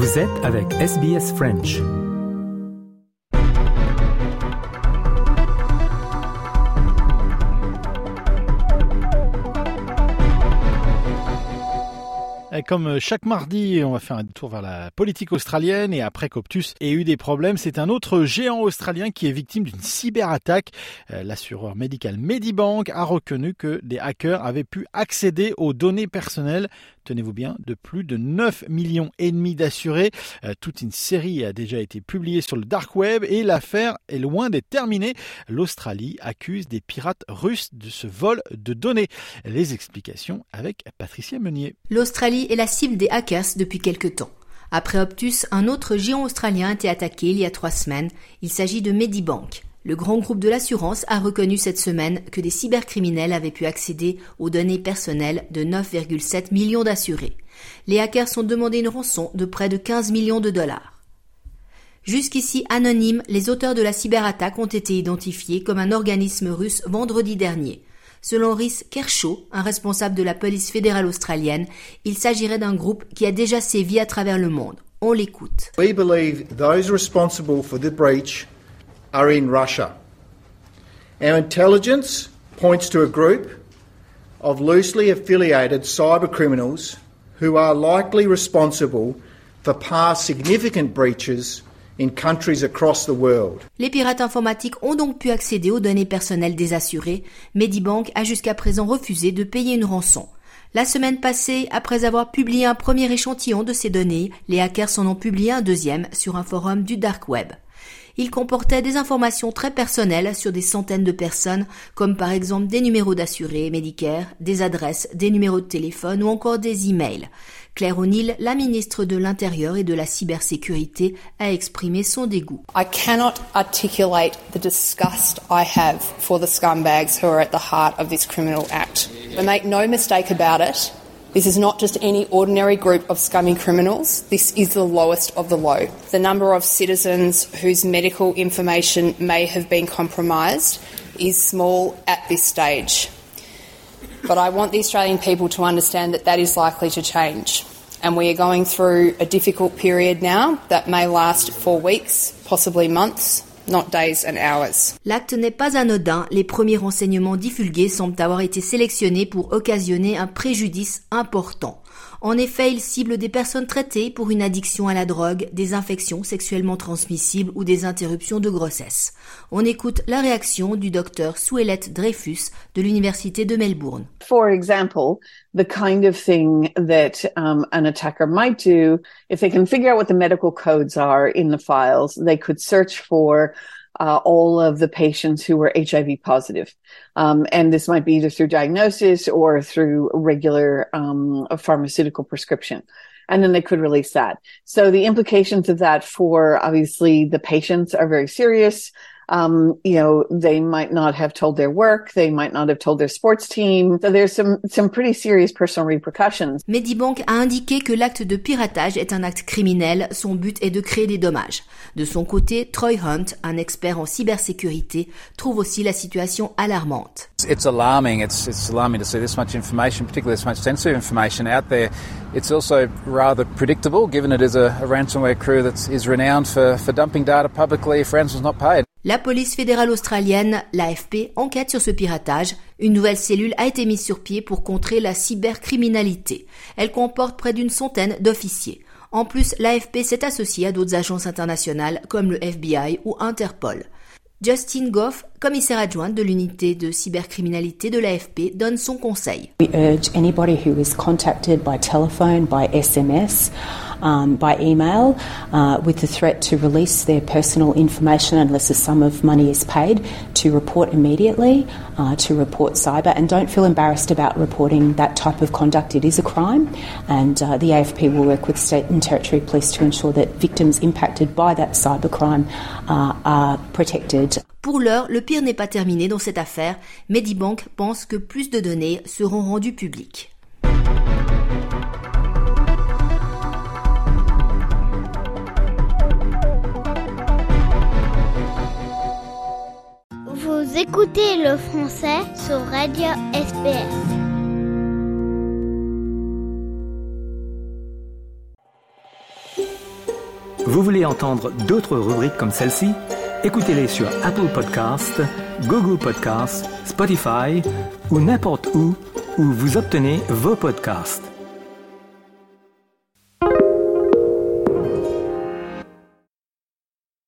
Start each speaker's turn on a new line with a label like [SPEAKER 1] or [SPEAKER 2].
[SPEAKER 1] Vous êtes avec SBS French.
[SPEAKER 2] Comme chaque mardi, on va faire un tour vers la politique australienne et après qu'Optus ait eu des problèmes, c'est un autre géant australien qui est victime d'une cyberattaque. L'assureur médical Medibank a reconnu que des hackers avaient pu accéder aux données personnelles, tenez-vous bien, de plus de 9,5 millions d'assurés. Toute une série a déjà été publiée sur le dark web et l'affaire est loin d'être terminée. L'Australie accuse des pirates russes de ce vol de données. Les explications avec Patricia Meunier.
[SPEAKER 3] L'Australie est la cible des hackers depuis quelque temps. Après Optus, un autre géant australien a été attaqué il y a 3 semaines. Il s'agit de Medibank. Le grand groupe de l'assurance a reconnu cette semaine que des cybercriminels avaient pu accéder aux données personnelles de 9,7 millions d'assurés. Les hackers ont demandé une rançon de près de 15 millions de dollars. Jusqu'ici anonymes, les auteurs de la cyberattaque ont été identifiés comme un organisme russe vendredi dernier. Selon Rhys Kershaw, un responsable de la police fédérale australienne, il s'agirait d'un groupe qui a déjà sévi à travers le monde. On l'écoute.
[SPEAKER 4] We believe those responsible for the breach are in Russia. Our intelligence points to a group of loosely affiliated cybercriminals who are likely responsible for past significant breaches in countries across the world.
[SPEAKER 3] Les pirates informatiques ont donc pu accéder aux données personnelles des assurés. Medibank a jusqu'à présent refusé de payer une rançon. La semaine passée, après avoir publié un premier échantillon de ces données, les hackers en ont publié un deuxième sur un forum du dark web. Il comportait des informations très personnelles sur des centaines de personnes, comme par exemple des numéros d'assurés Medicare, des adresses, des numéros de téléphone ou encore des emails. Claire O'Neill, la ministre de l'Intérieur et de la Cybersécurité, a exprimé son dégoût.
[SPEAKER 5] I cannot articulate the disgust I have for the scumbags who are at the heart of this criminal act. But make no mistake about it, this is not just any ordinary group of scummy criminals. This is the lowest of the low. The number of citizens whose medical information may have been compromised is small at this stage. But I want the Australian people to understand that is likely to change. And we are going through a difficult period now that may last for weeks, possibly months, not days and hours.
[SPEAKER 3] L'acte n'est pas anodin. Les premiers renseignements divulgués semblent avoir été sélectionnés pour occasionner un préjudice important. En effet, il cible des personnes traitées pour une addiction à la drogue, des infections sexuellement transmissibles ou des interruptions de grossesse. On écoute la réaction du docteur Suelette Dreyfus de l'Université de Melbourne.
[SPEAKER 6] For example, the kind of thing that an attacker might do, if they can figure out what the medical codes are in the files, they could search for all of the patients who were HIV positive. And this might be either through diagnosis or through regular pharmaceutical prescription. And then they could release that. So the implications of that for obviously the patients are very serious. They might not have told their work, they might not have told their sports team. So there's some pretty serious personal repercussions.
[SPEAKER 3] Medibank a indiqué que l'acte de piratage est un acte criminel. Son but est de créer des dommages. De son côté, Troy Hunt, un expert en cybersécurité, trouve aussi la situation alarmante.
[SPEAKER 7] It's alarming. It's alarming to see this much information, particularly this much sensitive information out there. It's also rather predictable, given it is a ransomware crew that is renowned for dumping data publicly if ransom is not paid.
[SPEAKER 3] La police fédérale australienne, l'AFP, enquête sur ce piratage. Une nouvelle cellule a été mise sur pied pour contrer la cybercriminalité. Elle comporte près d'une centaine d'officiers. En plus, l'AFP s'est associée à d'autres agences internationales comme le FBI ou Interpol. Justin Goff, commissaire adjointe de l'unité de cybercriminalité de l'AFP, donne son conseil.
[SPEAKER 8] We urge anybody who is contacted by telephone, by SMS, by email, with the threat to release their personal information unless a sum of money is paid, to report immediately, to report cyber, and don't feel embarrassed about reporting that type of conduct. It is a crime, and the AFP will work with state and territory police to ensure that victims impacted by that cybercrime are protected.
[SPEAKER 3] Pour l'heure, le pire n'est pas terminé dans cette affaire. Medibank pense que plus de données seront rendues publiques.
[SPEAKER 9] Vous écoutez le français sur Radio SBS.
[SPEAKER 1] Vous voulez entendre d'autres rubriques comme celle-ci? Écoutez-les sur Apple Podcasts, Google Podcasts, Spotify ou n'importe où vous obtenez vos podcasts.